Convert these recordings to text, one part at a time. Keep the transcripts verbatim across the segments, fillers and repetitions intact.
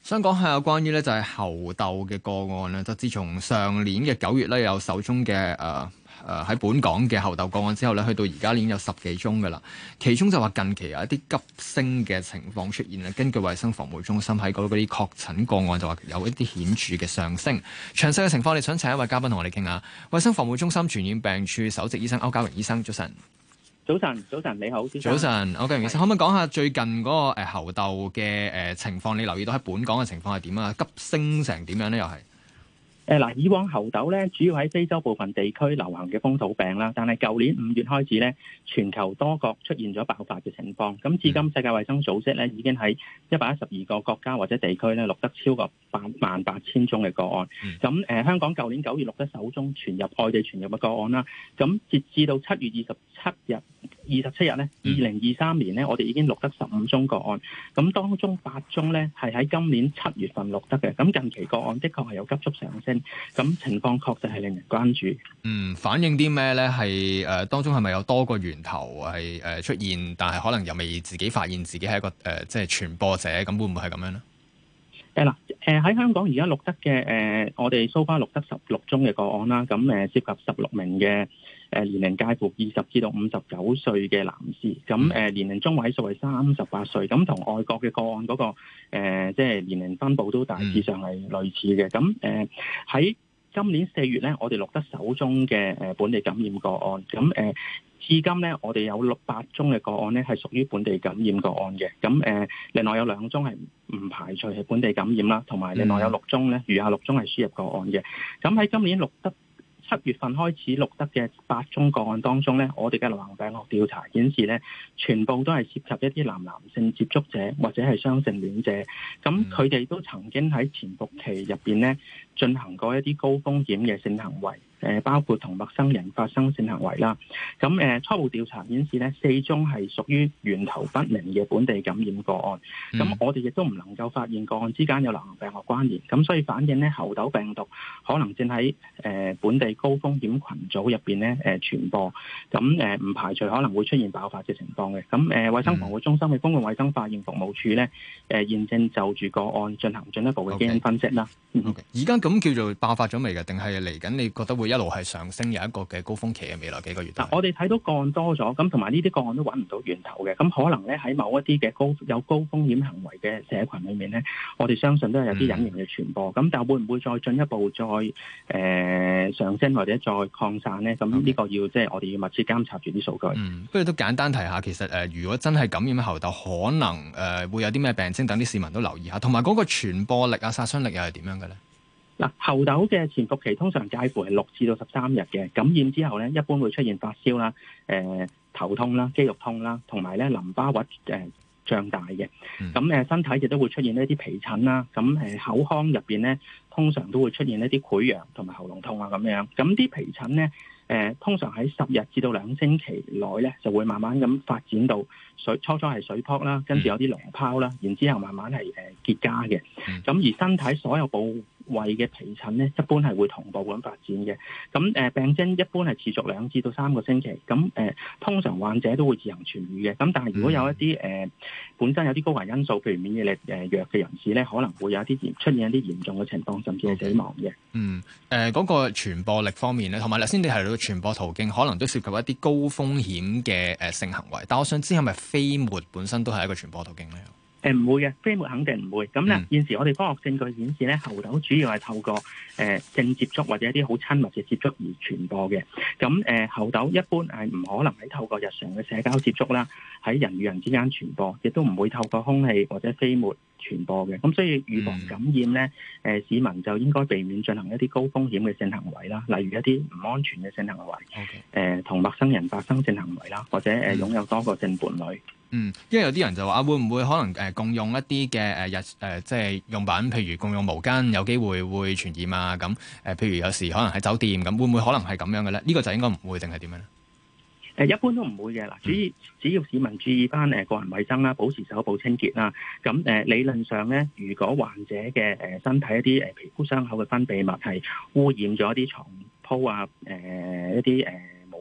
想講下有關於咧就係猴痘嘅個案咧，就自從上年嘅九月咧有首宗嘅誒誒喺本港嘅猴痘個案之後咧，去到而家已經有十幾宗噶啦。其中就話近期有一啲急升嘅情況出現啦。根據衛生防護中心喺嗰啲確診個案就話有一啲顯著嘅上升。詳細嘅情況，你想請一位嘉賓同我哋傾下。衛生防護中心傳染病處首席醫生歐家榮醫生，早晨。 早晨，早晨，你好， 早晨，歐家榮醫生，可唔可以講下最近嗰個誒猴痘嘅誒情況？你留意到喺本港嘅情況係點啊？急升成點樣咧？又係誒嗱，以往猴痘咧，主要喺非洲部分地區流行嘅風土病啦，但係舊年五月開始咧，全球多國出現咗爆發嘅情況。咁至今世界衛生組織咧已經喺一百一十二個國家或者地區咧錄得超過八萬八千宗嘅個案。咁誒、呃，香港舊年九月錄得首宗傳入外地傳入嘅個案啦。咁截至到七月二十七日。二十七日咧，二零二三年咧，我哋已經錄得十五宗個案，咁當中八宗咧係喺今年七月份錄得嘅，咁近期個案的確係有急速上升，咁情況確實係令人關注。 嗯，反映啲咩咧？係誒、呃、當中係咪有多個源頭係誒、呃、出現，但係可能又未自己發現自己係一個誒、呃、即係傳播者，咁會唔會係咁樣咧？ 誒嗱，誒喺香港而家錄得嘅誒、呃，我哋 so far 錄得十六宗嘅個案啦，咁誒涉及十六名嘅誒年齡介乎二十至到五十九歲嘅男士，咁誒、呃、年齡中位數係三十八歲，咁同外國嘅個案嗰、那個、呃、即係年齡分佈都大致上係類似嘅，咁誒喺今年四月咧，我哋錄得首宗嘅誒本地感染個案，咁誒。呃至今咧，我哋有六百宗嘅個案咧，係屬於本地感染個案嘅。咁誒、呃，另外有兩宗係唔排除係本地感染啦，同埋另外有六宗咧，餘下六宗係輸入個案嘅。咁喺今年錄得七月份開始錄得嘅八宗個案當中咧，我哋嘅流行病學調查顯示咧，全部都係涉及一啲男男性接觸者或者係雙性戀者。咁佢哋都曾經喺潛伏期入邊咧進行過一啲高風險嘅性行為。誒包括同陌生人發生性行為啦，咁誒初步調查顯示咧，四宗係屬於源頭不明嘅本地感染個案，咁、嗯、我哋亦都唔能夠發現個案之間有流行病學關聯，咁所以反映咧猴痘病毒可能正喺誒本地高風險群組入邊咧誒傳播，咁誒唔排除可能會出現爆發嘅情況嘅，咁誒衛生防護中心嘅公共衛生化驗服務處咧誒現正就住個案進行進一步嘅基因分析啦。 而家咁叫做爆發咗未㗎？定係嚟緊？你覺得會一路係上升，有一個嘅高峰期嘅未來幾個月？ 嗱，我哋睇到個案多咗，咁同埋呢啲個案都揾唔到源頭嘅，咁可能咧喺某一啲嘅高有高風險行為嘅社群裏面咧，我哋相信都係有啲隱形嘅傳播。咁、嗯、但係會唔會再進一步再誒、呃、上升或者再擴散咧？咁呢個要即係、就是、我哋要密切監察住啲數據。 嗯，不如都簡單提下，其實誒、呃，如果真係感染猴痘，可能誒、呃、會有啲咩病徵，等啲市民都留意下。同埋嗰個傳播力啊、殺傷力又係點樣嘅咧？ 嗱，猴痘嘅潛伏期通常介乎係六至到十三日嘅，感染之後咧，一般會出現發燒啦、誒、呃、頭痛啦、肌肉痛啦，同埋咧淋巴核誒脹大嘅。咁誒、嗯、身體亦都會出現一啲皮疹啦，咁誒口腔入邊咧通常都會出現一啲潰瘍同埋喉嚨痛啊咁樣。咁啲皮疹咧誒通常喺十日至到兩星期內咧就會慢慢咁發展到水，初初係水泡啦，跟住有啲膿疱啦，然之後慢慢係誒結痂嘅。咁、嗯、而身體所有部胃嘅皮疹咧，一般係會同步咁發展嘅。咁誒、呃、病徵一般係持續兩至到三個星期。咁誒、呃、通常患者都會自行痊愈嘅。咁但係如果有一啲誒、呃、本身有啲高危因素，譬如免疫力誒、呃、弱嘅人士咧，可能會有一啲嚴出現一啲嚴重嘅情況，甚至係死亡嘅。 嗯誒，嗰、呃嗰個傳播力方面咧，同埋頭先你提到傳播途徑，可能都涉及一啲高風險嘅誒性行為。但我想知係咪飛沫本身都係一個傳播途徑咧？ 誒唔會嘅，飛沫肯定唔會。咁咧、嗯、現時我哋科學證據顯示咧，猴痘主要係透過誒、呃、性接觸或者一啲好親密嘅接觸而傳播嘅。咁誒、呃、猴痘一般係唔可能喺透過日常嘅社交接觸啦，喺人與人之間傳播，亦都唔會透過空氣或者飛沫傳播嘅。咁所以預防感染咧，誒、呃、市民就應該避免進行一啲高風險嘅性行為啦，例如一啲唔安全嘅性行為，誒同 Okay.、呃、陌生人發生性行為啦，或者誒、呃、擁有多個性伴侶。 嗯，因為有啲人就話啊，會唔會可能誒、呃、共用一啲嘅誒日誒、呃、即係用品，譬如共用毛巾，有機會會傳染啊？咁誒、呃，譬如有時可能喺酒店咁，會唔會可能係咁樣嘅咧？呢、這個就應該唔會定係點樣咧？ 誒一般都唔會嘅嗱，主要只要市民注意翻誒個人衞生啦，保持手部清潔啦，咁誒理論上咧，如果患者嘅誒身體一啲誒皮膚傷口嘅分泌物係污染咗一啲床鋪啊、誒、呃、一啲誒。呃毛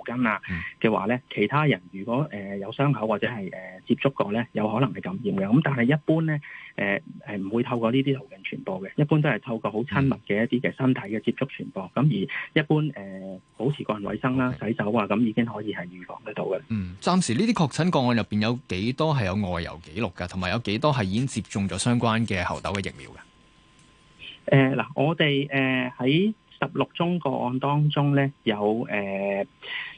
巾啊嘅話咧，其他人如果誒、呃、有傷口或者係誒、呃、接觸過咧，有可能係感染嘅。咁但係一般咧誒係唔會透過呢啲途徑傳播嘅，一般都係透過好親密嘅一啲嘅身體嘅接觸傳播。咁而一般誒、呃、保持個人衛生啦、洗手啊，咁已經可以係預防得到嘅。 嗯，暫時呢啲確診個案入邊有幾多係有外遊記錄㗎？同埋有幾多係已經接種咗相關嘅猴痘嘅疫苗㗎？呃，嗱，我哋誒喺十六宗個案當中咧，有誒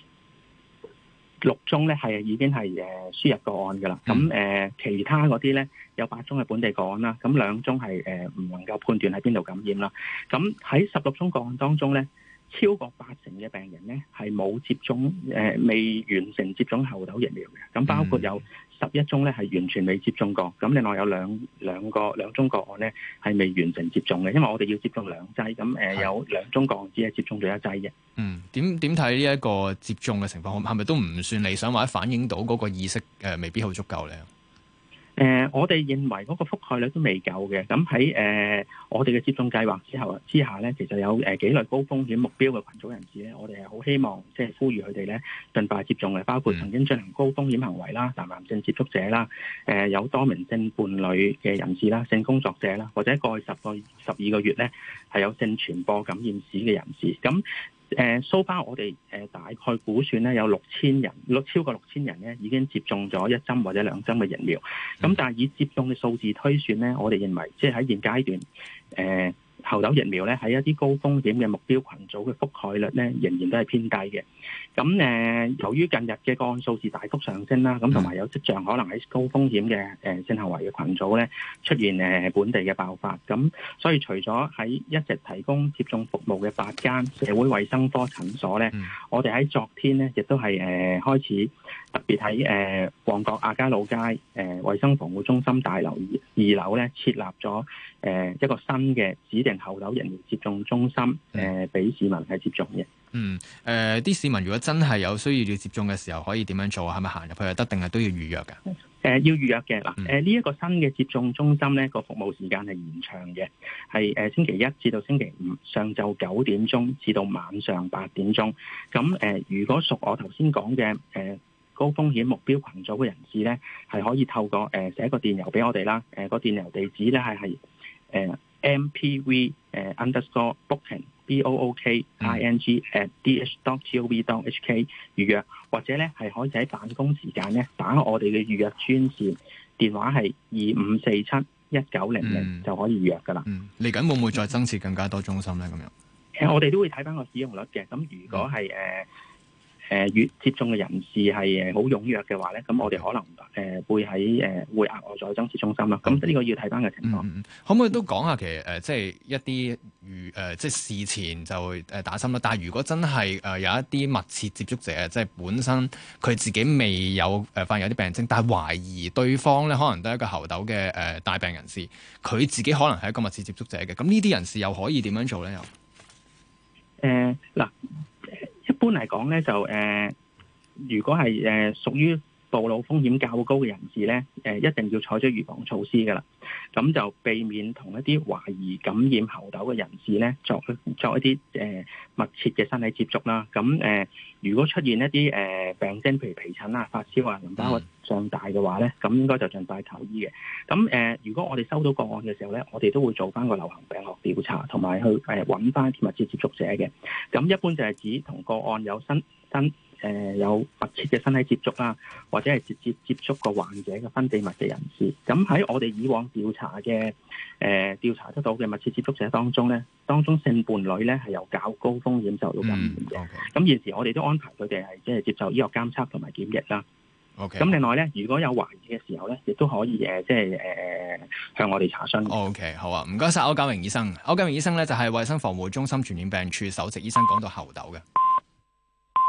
六宗咧係已經係誒輸入個案㗎啦。咁誒、呃、其他嗰啲咧有八宗係本地個案啦，咁兩宗係誒唔能夠判斷喺邊度感染啦。咁喺十六宗個案當中咧，超過八成嘅病人咧係冇接種誒、呃、未完成接種猴痘疫苗嘅。咁包括有十一宗咧係完全未接種過，咁另外有兩兩個兩宗個案咧係未完成接種嘅，因為我哋要接種兩劑，咁誒、呃、有兩宗個案只係接種咗一劑嘅。嗯，點點睇呢一個接種嘅情況，係咪都唔算理想，或者反映到嗰個意識誒、呃、未必好足夠咧？誒、呃，我哋認為嗰個覆蓋率都未夠嘅。咁喺誒我哋嘅接種計劃之後之下咧，其實有誒、呃、幾類高風險目標嘅群組人士咧，我哋係好希望即係呼籲佢哋咧盡快接種嘅，包括曾經進行高風險行為啦、男男性接觸者啦、誒、呃、有多名性伴侶嘅人士啦、性工作者啦，或者過去十個十二個月咧係有性傳播感染史嘅人士。咁誒，so far我哋誒大概估算咧有六千人，六超過六千人咧已經接種咗一針或者兩針嘅疫苗。咁但係以接種嘅數字推算咧，我哋認為即係喺現階段誒。呃猴痘疫苗咧喺一啲高風險嘅目標群組嘅覆蓋率咧，仍然都係偏低嘅。咁誒、呃，由於近日嘅個案數字大幅上升啦，咁同埋有跡象可能喺高風險嘅誒性行為嘅群組咧出現誒本地嘅爆發。咁所以除咗喺一直提供接種服務嘅八間社會衛生科診所咧，嗯、我哋喺昨天咧亦都係誒、呃、開始特別喺誒、呃、旺角亞皆老街誒衛、呃、生防護中心大樓二樓咧設立咗誒、呃、一個新嘅指定猴痘疫苗接種中心，誒、呃，俾市民係接種嘅。嗯，誒、呃，啲市民如果真係有需要要接種嘅時候，可以點樣做啊？係咪行入去就得，定係都要預約㗎？誒、呃，要預約嘅嗱，誒，呢、呃、一、這個新嘅接種中心咧，個服務時間係延長嘅，係誒、呃、星期一至到星期五上晝九點鐘至到晚上八點鐘。咁誒、呃，如果屬我頭先講嘅誒。呃高風險目標群組嘅人士咧，係可以透過誒、呃、寫個電郵俾我哋啦。誒、呃、個電郵地址咧係係誒 M P V 誒 underscore booking B O O K I N G at D H dot G O V dot H K 預約，或者咧係可以喺辦公時間咧打我哋嘅預約專線電話係二五四七一九零零就可以預約噶啦。嗯，嚟緊會唔會再增設更加多中心咧？咁樣誒、呃，我哋都會睇翻個使用率嘅。咁如果係誒。呃誒，越、呃、接種嘅人士係誒好踴躍嘅話咧，咁我哋可能誒、呃、會喺誒、呃、會額外再增設中心啦。咁呢個要睇翻嘅情況、嗯嗯。可唔可以都講下其實誒、呃，即係一啲預誒，即係事前就誒打針啦。但係如果真係誒、呃、有一啲密切接觸者，即係本身佢自己未有誒、呃、發現有啲病徵，但係懷疑對方咧可能都係一個猴痘嘅誒帶病人士，佢自己可能係一個密切接觸者嘅。咁呢啲人士又可以點樣做咧？又誒嗱。一般嚟講咧，就誒、呃，如果係誒、呃、屬於暴露風險較高嘅人士咧，誒、呃、一定要採取預防措施噶啦。咁就避免同一啲懷疑感染猴痘嘅人士咧，作作一啲誒、呃、密切嘅身體接觸啦。咁誒、呃，如果出現一啲誒、呃、病徵，譬如皮疹啊、發燒啊、淋巴核脹大嘅話咧，咁應該就盡快求醫嘅。咁誒、呃，如果我哋收到個案嘅時候咧，我哋都會做翻個流行病學調查，同埋去誒揾翻密切接觸者嘅。咁一般就係指同個案有新新。誒、呃、有密切嘅身體接觸啦，或者係直接接觸過患者嘅分泌物嘅人士。咁喺我哋以往調查嘅誒、呃、調查得到嘅密切接觸者當中咧，當中性伴侶咧係有較高風險受到感染嘅。咁、嗯 okay. 現時我哋都安排佢哋係即係接受醫學監測同埋檢疫啦。OK。咁另外咧，如果有懷疑嘅時候咧，亦都可以誒即係誒向我哋查詢。OK， 好啊，唔該晒。歐家榮醫生。歐家榮醫生咧就係衛生防護中心傳染病處首席醫生，講到猴痘嘅。